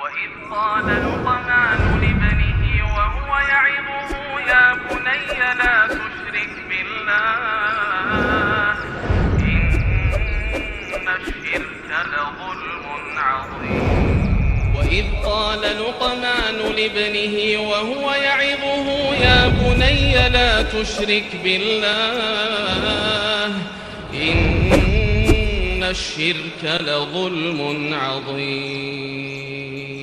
وإذ قال لقمان لابنه وهو يعظه يا بني لا تشرك بالله إن الشرك لظلم عظيم وإذ قال لقمان لابنه وهو يعظه يا بني لا تشرك بالله إن الشرك لظلم عظيم.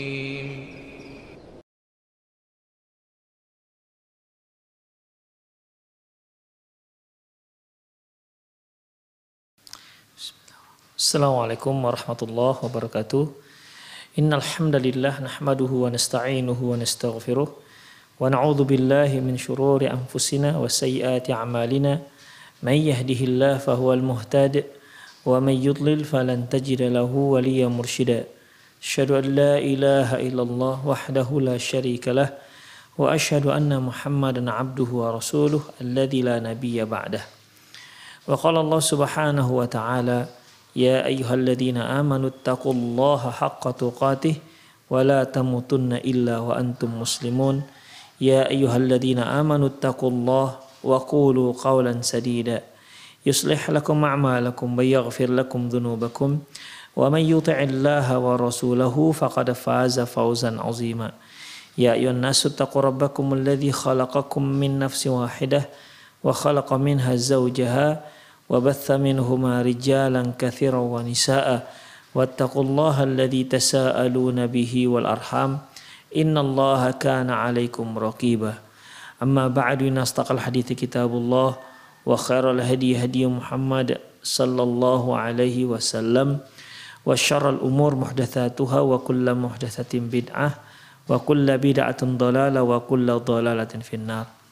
Assalamualaikum warahmatullahi wabarakatuh. Innal hamdalillah nahmaduhu wa nasta'inuhu wa nastaghfiruh wa na'udzu billahi min shururi anfusina wa sayyiati a'malina. May yahdihillahu fahuwal muhtadi wa may yudlil falan tajida lahu waliyyan mursyida. Asyhadu an la ilaha illallah wahdahu la syarika lah wa asyhadu anna Muhammadan 'abduhu wa rasuluh alladzi la nabiyya ba'dah. Wa qala Allah subhanahu wa ta'ala Ya ayyuhalladzina amanu taqullaha haqqa tuqatih wa la tamutunna illa wa antum muslimun. Ya ayyuhalladzina amanu taqullaha wa qulu qawlan sadida yuslih lakum a'malakum wa yaghfir lakum dhunubakum wa man yuti'illaha wa rasulahu faqad faza fawzan 'azima. Ya ayyuhan nasu taqu rabbakum alladzi khalaqakum min nafsin wahidah wa khalaqa minha zawjaha وبث منهما رجالا كثيرا ونساء واتقوا الله الذي تساءلون به والأرحام إن الله كان عليكم رقيبا أما بعد إن أصدق الحديث كتاب الله وخير الهدي هدي محمد صلى الله عليه وسلم وشر الأمور محدثاتها وكل محدثة بدعة وكل بدعة ضلالة وكل ضلالة في النار.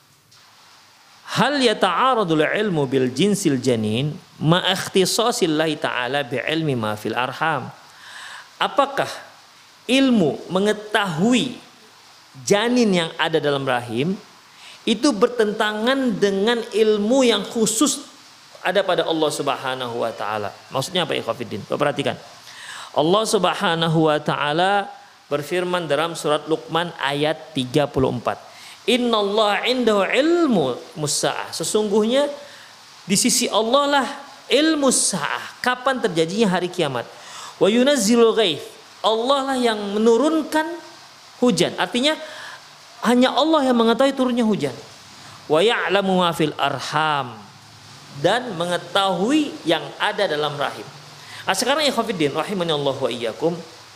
Hal yata'aradul ilmu bil jinsil janin ma ikhtisasillahi ta'ala bi ilmi ma fil arham. Apakah ilmu mengetahui janin yang ada dalam rahim itu bertentangan dengan ilmu yang khusus ada pada Allah Subhanahu wa taala? Maksudnya apa ikhwatiddin? Perhatikan. Allah Subhanahu wa taala berfirman dalam surat Luqman ayat 34. Innallaha indahu ilmu musa'ah. Sesungguhnya di sisi Allah lah ilmu sa'ah, kapan terjadinya hari kiamat. Wa yunazzilul ghaith. Allah lah yang menurunkan hujan. Artinya hanya Allah yang mengetahui turunnya hujan. Wa ya'lamu ma fil arham. Dan mengetahui yang ada dalam rahim. Sekarang ikhwatiddin rahimanallahu wa iyyakum.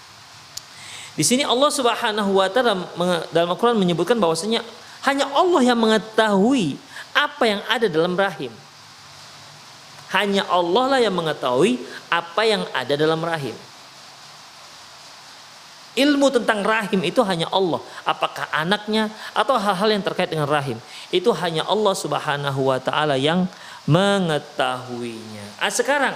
Di sini Allah Subhanahu wa taala dalam Al-Qur'an menyebutkan bahwasanya hanya Allah yang mengetahui apa yang ada dalam rahim. Hanya Allah lah yang mengetahui apa yang ada dalam rahim. Ilmu tentang rahim itu hanya Allah. Apakah anaknya atau hal-hal yang terkait dengan rahim, itu hanya Allah Subhanahu wa taala yang mengetahuinya. Sekarang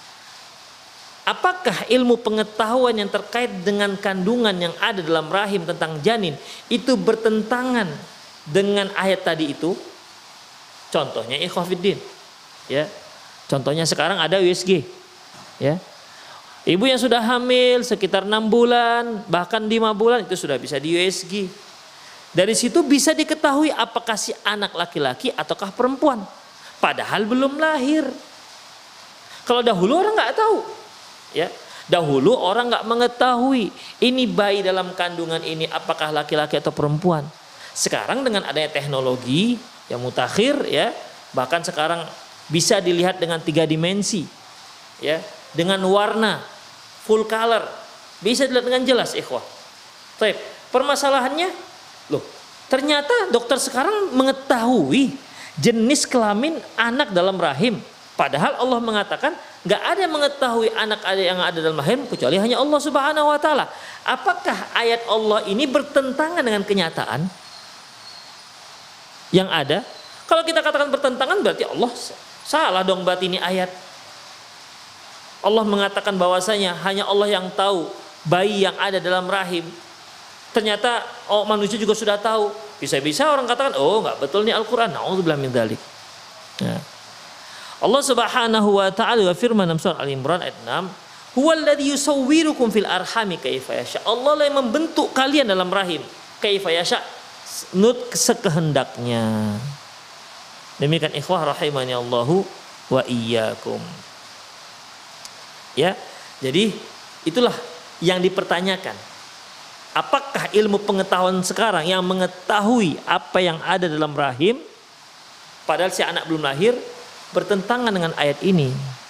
apakah ilmu pengetahuan yang terkait dengan kandungan yang ada dalam rahim tentang janin itu bertentangan dengan ayat tadi itu? Contohnya ikhwatiddin, ya. Contohnya sekarang ada USG, ya. Ibu yang sudah hamil sekitar 6 bulan, bahkan 5 bulan itu sudah bisa di USG. Dari situ bisa diketahui apakah si anak laki-laki ataukah perempuan, padahal belum lahir. Kalau dahulu orang nggak tahu. Ya, dahulu orang nggak mengetahui ini bayi dalam kandungan ini apakah laki-laki atau perempuan. Sekarang dengan adanya teknologi yang mutakhir, ya, bahkan sekarang bisa dilihat dengan 3 dimensi, ya, dengan warna full color, bisa dilihat dengan jelas, ikhwah. Baik, permasalahannya, loh, ternyata dokter sekarang mengetahui jenis kelamin anak dalam rahim. Padahal Allah mengatakan nggak ada yang mengetahui anak yang ada dalam rahim kecuali hanya Allah Subhanahu wa taala. Apakah ayat Allah ini bertentangan dengan kenyataan yang ada? Kalau kita katakan bertentangan berarti Allah salah dong, berarti ini ayat. Allah mengatakan bahwasanya hanya Allah yang tahu bayi yang ada dalam rahim. Ternyata manusia juga sudah tahu. Bisa-bisa orang katakan, oh nggak betul nih Al-Quran. Na'udzubillah min dzalik. Ya. Allah Subhanahu wa taala berfirman dalam surah Al-Imran ayat 6, Huwallazi yusawwirukum fil arhami kaifa yasha. Allah lah yang membentuk kalian dalam rahim kaifa yasha, menurut sekehendaknya. Demikian ikhwah rahimani Allahu wa iyyakum. Ya, jadi itulah yang dipertanyakan. Apakah ilmu pengetahuan sekarang yang mengetahui apa yang ada dalam rahim padahal si anak belum lahir bertentangan dengan ayat ini?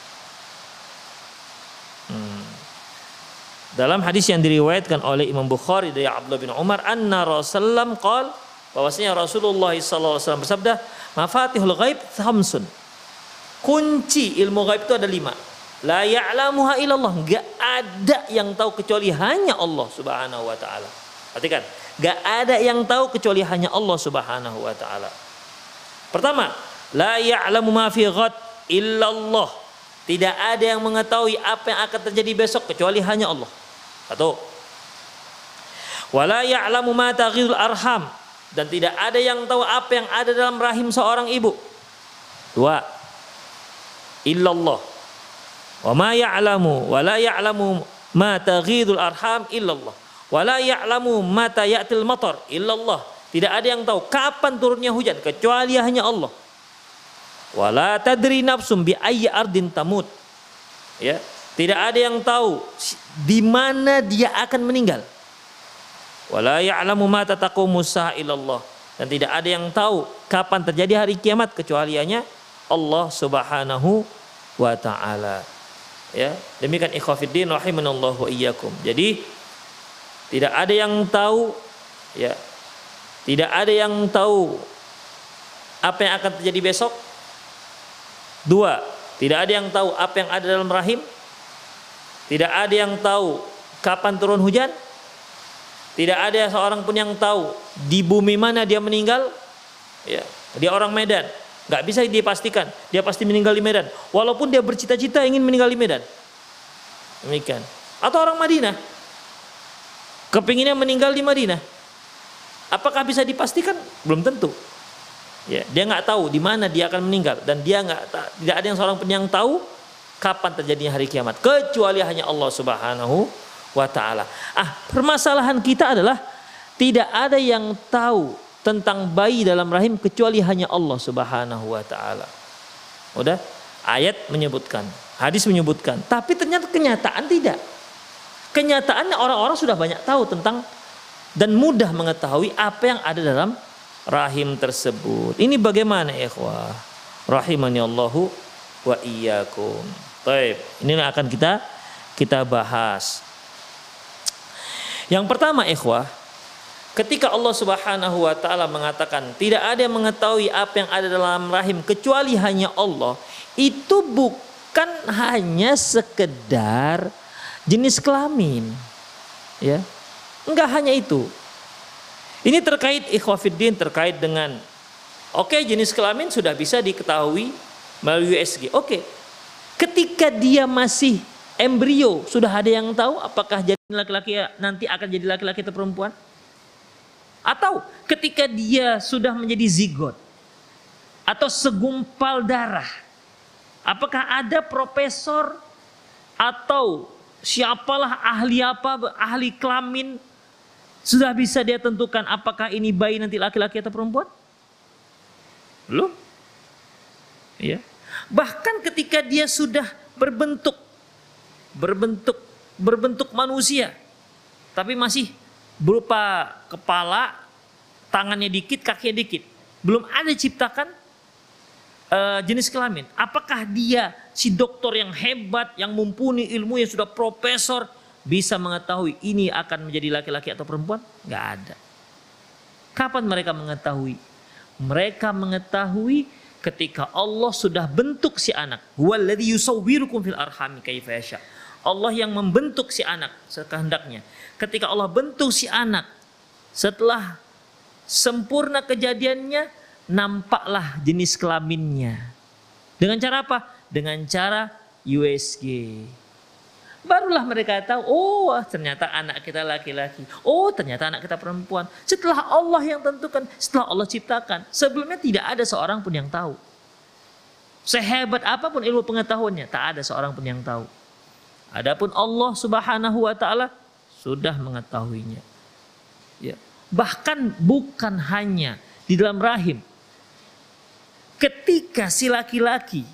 Dalam hadis yang diriwayatkan oleh Imam Bukhari dari Abdullah bin Umar, anna Rasulullah qala, bahwasanya Rasulullah SAW bersabda, mafatihul ghaib khamsun. Kunci ilmu ghaib itu ada 5. La ya'lamuha illallah, enggak ada yang tahu kecuali hanya Allah Subhanahu wa taala. Perhatikan, enggak ada yang tahu kecuali hanya Allah Subhanahu wa taala. Pertama, la ya'lamu ma fi ghad illallah. Tidak ada yang mengetahui apa yang akan terjadi besok kecuali hanya Allah. Satu. Wala ya'lamu ma taghidul arham, dan tidak ada yang tahu apa yang ada dalam rahim seorang ibu. 2. Illallah. Wa ma ya'lamu wa la ya'lamu ma taghidul arham illallah. Wa la ya'lamu mata ya'til matar illallah. Tidak ada yang tahu kapan turunnya hujan kecuali hanya Allah. Wala tadri nafsum bi ayyi ardin tamut. Ya, tidak ada yang tahu di mana dia akan meninggal. Wala ya'lamu mata taqumu sa'a illallah, dan tidak ada yang tahu kapan terjadi hari kiamat kecuali hanya Allah Subhanahu wa taala. Ya, demikian ikhwatiddin rahimanallahu wa iyyakum. Jadi tidak ada yang tahu, ya. Tidak ada yang tahu apa yang akan terjadi besok. 2, tidak ada yang tahu apa yang ada dalam rahim. Tidak ada yang tahu kapan turun hujan. Tidak ada seorang pun yang tahu di bumi mana dia meninggal. Ya, dia orang Medan, nggak bisa dipastikan dia pasti meninggal di Medan, walaupun dia bercita-cita ingin meninggal di Medan. Demikian. Atau orang Madinah, kepinginnya meninggal di Madinah. Apakah bisa dipastikan? Belum tentu. Ya, dia nggak tahu di mana dia akan meninggal, dan dia tidak ada yang seorang pun yang tahu kapan terjadinya hari kiamat kecuali hanya Allah Subhanahu wa taala. Permasalahan kita adalah tidak ada yang tahu tentang bayi dalam rahim kecuali hanya Allah Subhanahu wa taala. Udah, ayat menyebutkan, hadis menyebutkan, tapi ternyata kenyataan tidak. Kenyataannya orang-orang sudah banyak tahu tentang dan mudah mengetahui apa yang ada dalam rahim tersebut. Ini bagaimana ikhwah? Rahimani Allahu wa iyyakum. Baik, ini akan kita bahas. Yang pertama ikhwah, ketika Allah Subhanahu wa taala mengatakan tidak ada yang mengetahui apa yang ada dalam rahim kecuali hanya Allah, itu bukan hanya sekedar jenis kelamin. Ya. Enggak hanya itu. Ini terkait ikhwafiddin, terkait dengan jenis kelamin sudah bisa diketahui melalui USG. Ketika dia masih embrio, sudah ada yang tahu apakah jadi laki-laki nanti akan jadi laki-laki atau perempuan? Atau ketika dia sudah menjadi zigot atau segumpal darah, apakah ada profesor atau siapalah ahli kelamin sudah bisa dia tentukan apakah ini bayi nanti laki-laki atau perempuan? Belum. Ya. Bahkan ketika dia sudah berbentuk manusia, tapi masih berupa kepala, tangannya dikit, kakinya dikit, belum ada ciptakan jenis kelamin. Apakah dia si dokter yang hebat, yang mumpuni ilmu, yang sudah profesor, bisa mengetahui ini akan menjadi laki-laki atau perempuan? Nggak ada. Kapan mereka mengetahui? Mereka mengetahui ketika Allah sudah bentuk si anak. Huwallazi yusawwirukum fil arhami kaifa yasha. Allah yang membentuk si anak sekehendaknya. Ketika Allah bentuk si anak, setelah sempurna kejadiannya, nampaklah jenis kelaminnya. Dengan cara apa? Dengan cara USG. Barulah mereka tahu, ternyata anak kita laki-laki. Ternyata anak kita perempuan. Setelah Allah yang tentukan, setelah Allah ciptakan. Sebelumnya tidak ada seorang pun yang tahu. Sehebat apapun ilmu pengetahuannya, tak ada seorang pun yang tahu. Adapun Allah Subhanahu wa taala sudah mengetahuinya. Ya. Bahkan bukan hanya di dalam rahim. Ketika si laki-laki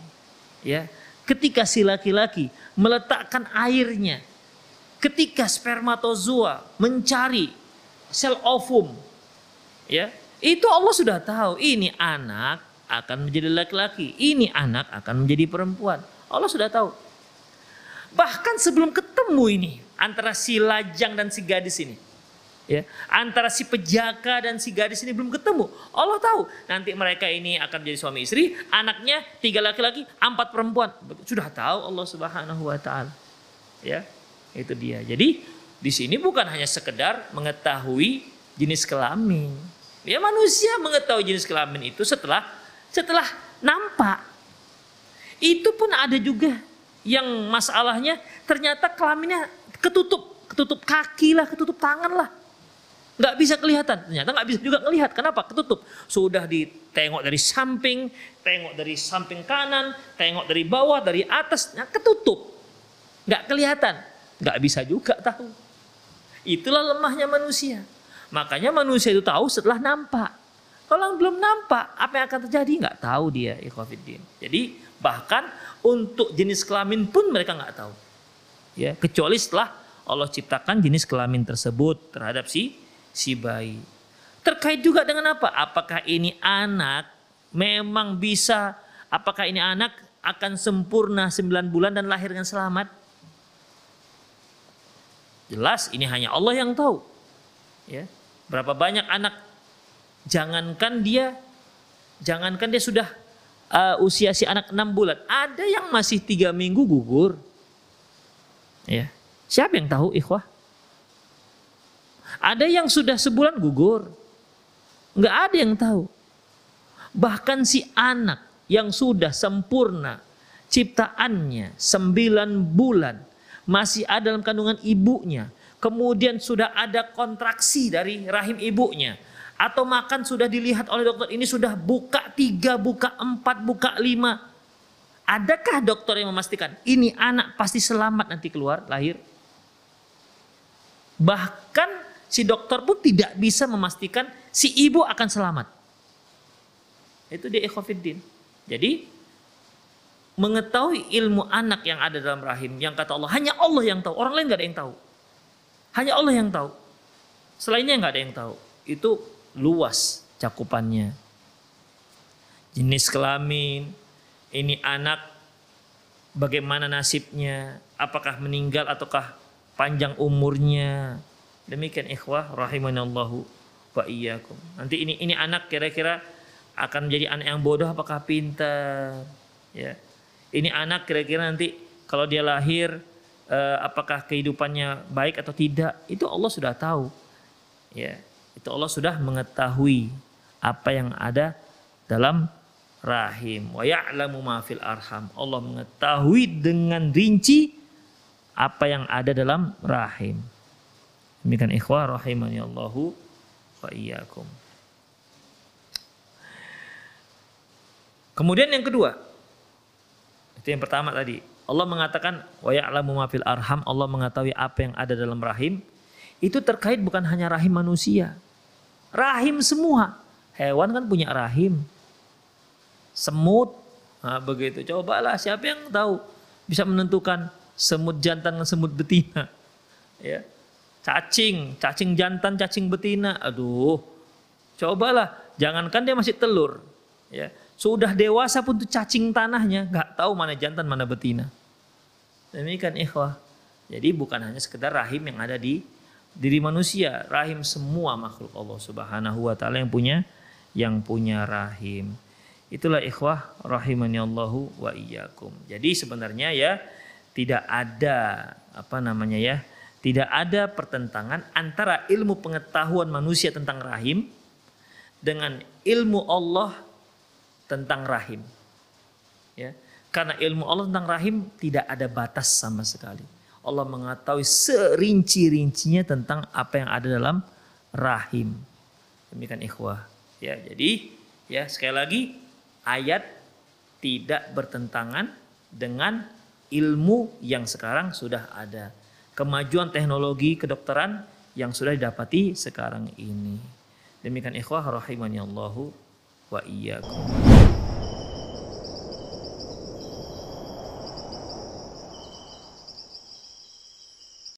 meletakkan airnya, ketika spermatozoa mencari sel ovum, ya, itu Allah sudah tahu ini anak akan menjadi laki-laki, ini anak akan menjadi perempuan. Allah sudah tahu. Bahkan sebelum ketemu ini antara si lajang dan si gadis ini, ya, antara si pejaka dan si gadis ini belum ketemu. Allah tahu nanti mereka ini akan jadi suami istri, anaknya 3 laki-laki, 4 perempuan. Sudah tahu Allah Subhanahu wa taala. Ya, itu dia. Jadi di sini bukan hanya sekedar mengetahui jenis kelamin. Ya, manusia mengetahui jenis kelamin itu setelah nampak. Itu pun ada juga yang masalahnya ternyata kelaminnya ketutup kaki lah, ketutup tangan lah. Nggak bisa kelihatan, ternyata nggak bisa juga ngelihat. Kenapa? Ketutup. Sudah ditengok dari samping, tengok dari samping kanan, tengok dari bawah, dari atas, ketutup. Nggak kelihatan, nggak bisa juga tahu. Itulah lemahnya manusia. Makanya manusia itu tahu setelah nampak. Kalau belum nampak, apa yang akan terjadi? Nggak tahu dia, ikhwatiddin. Jadi bahkan untuk jenis kelamin pun mereka nggak tahu. Ya, kecuali setelah Allah ciptakan jenis kelamin tersebut terhadap si bayi. Terkait juga dengan apa? Apakah ini anak memang bisa, apakah ini anak akan sempurna 9 bulan dan lahir dengan selamat? Jelas ini hanya Allah yang tahu. Ya. Berapa banyak anak jangankan dia sudah usia si anak 6 bulan, ada yang masih 3 minggu gugur. Ya. Siapa yang tahu, ikhwah? Ada yang sudah sebulan gugur. Nggak ada yang tahu. Bahkan si anak yang sudah sempurna ciptaannya 9 bulan, masih ada dalam kandungan ibunya, kemudian sudah ada kontraksi dari rahim ibunya, atau makan sudah dilihat oleh dokter, ini sudah buka 3, buka 4, buka 5. Adakah dokter yang memastikan ini anak pasti selamat nanti keluar, lahir? Bahkan si dokter pun tidak bisa memastikan si ibu akan selamat. Itu dia, ikhwatiddin. Jadi mengetahui ilmu anak yang ada dalam rahim, yang kata Allah hanya Allah yang tahu, orang lain nggak ada yang tahu. Hanya Allah yang tahu. Selainnya nggak ada yang tahu. Itu luas cakupannya. Jenis kelamin, ini anak bagaimana nasibnya, apakah meninggal ataukah panjang umurnya. Demikian ikhwah rahimanallahu wa iyyakum. Nanti ini anak kira-kira akan menjadi anak yang bodoh apakah pintar, ya. Ini anak kira-kira nanti kalau dia lahir apakah kehidupannya baik atau tidak, itu Allah sudah tahu. Ya, itu Allah sudah mengetahui apa yang ada dalam rahim. Wa ya'lamu ma fil arham. Allah mengetahui dengan rinci apa yang ada dalam rahim. Demikian ikhwah rahimani Allahu wa iyyakum. Kemudian yang kedua, itu yang pertama tadi. Allah mengatakan wa ya'lamu ma fil arham, Allah mengetahui apa yang ada dalam rahim. Itu terkait bukan hanya rahim manusia. Rahim semua. Hewan kan punya rahim. Semut, nah, begitu. Cobalah siapa yang tahu bisa menentukan semut jantan dan semut betina. Ya. Cacing jantan, cacing betina. Aduh. Cobalah, jangankan dia masih telur. Ya. Sudah dewasa pun tuh cacing tanahnya nggak tahu mana jantan mana betina. Demikian ikhwah. Jadi bukan hanya sekedar rahim yang ada di diri manusia, rahim semua makhluk Allah Subhanahu wa taala yang punya rahim. Itulah ikhwah rahimani Allahu wa iyyakum. Jadi sebenarnya ya tidak ada tidak ada pertentangan antara ilmu pengetahuan manusia tentang rahim dengan ilmu Allah tentang rahim. Ya. Karena ilmu Allah tentang rahim tidak ada batas sama sekali. Allah mengetahui serinci-rincinya tentang apa yang ada dalam rahim. Demikian ikhwah. Ya, jadi ya sekali lagi ayat tidak bertentangan dengan ilmu yang sekarang sudah ada, kemajuan teknologi kedokteran yang sudah didapati sekarang ini. Demikian ikhwah rahimani Allahu wa iyyakum.